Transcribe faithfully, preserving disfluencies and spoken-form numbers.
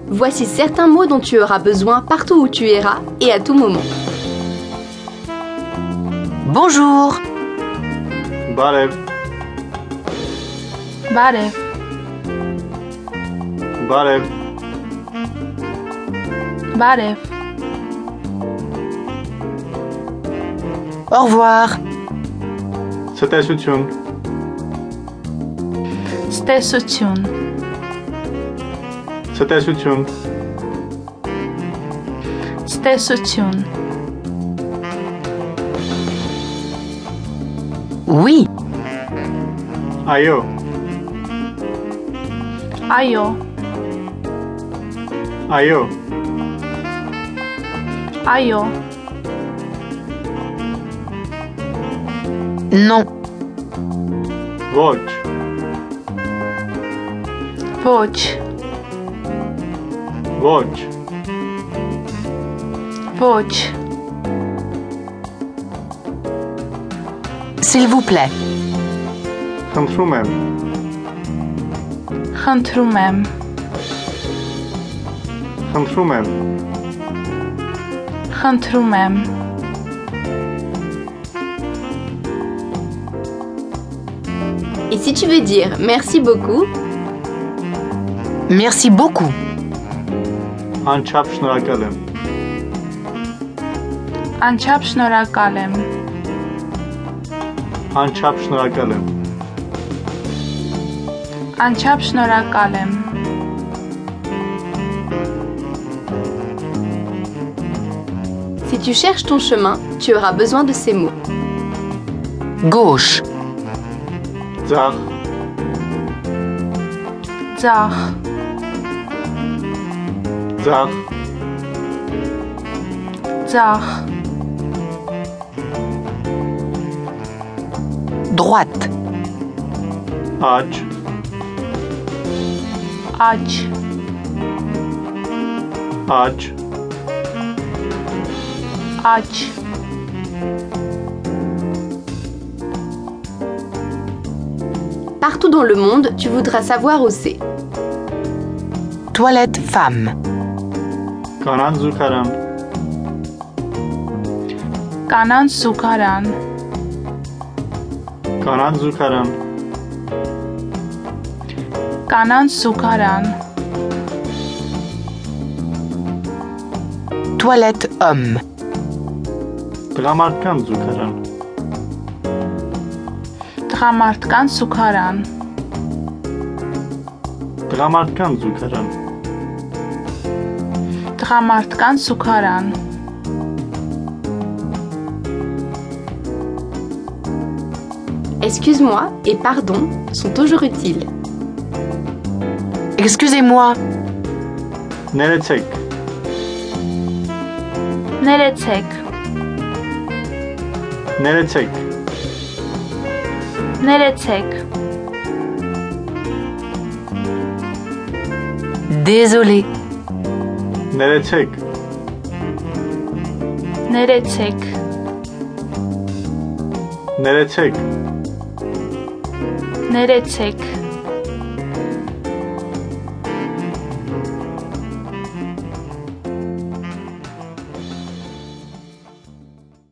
Voici certains mots dont tu auras besoin partout où tu iras et à tout moment. Bonjour. Barev. Barev. Barev. Barev. Au revoir. Ցտեսություն. Ստեսություն. Ցտեսություն. Ստեսություն. Oui. Այո. Այո. Այո. Այո. Non. Ոչ. Ոչ. Ոչ. Ոչ. S'il vous plaît. Խնդրում եմ. Խնդրում եմ. Խնդրում եմ. Խնդրում եմ. Et si tu veux dire merci beaucoup, Merci beaucoup. Անչափ շնորհակալ եմ. Անչափ շնորհակալ եմ. Անչափ շնորհակալ եմ. Անչափ շնորհակալ եմ. si tu cherches ton chemin, tu auras besoin de ces mots. Gauche. Ձախ. Ձախ. Ձախ. Ձախ. Droite. Աջ. Աջ. Աջ. Աջ. Partout dans le monde, tu voudras savoir où c'est. Toilette femme. Կանանց զուգարան. Կանանց զուգարան. Կանանց զուգարան. Կանանց զուգարան. Toilette homme. Տղամարդկանց զուգարան. Տղամարդկանց զուգարան. Տղամարդկանց զուգարան. Տղամարդկանց զուգարան. Excuse-moi et pardon sont toujours utiles. Excusez-moi. Ներեցեք. Ներեցեք. Ներեցեք. Ներեցեք. Désolé. Ներեցեք. Ներեցեք. Ներեցեք. Ներեցեք.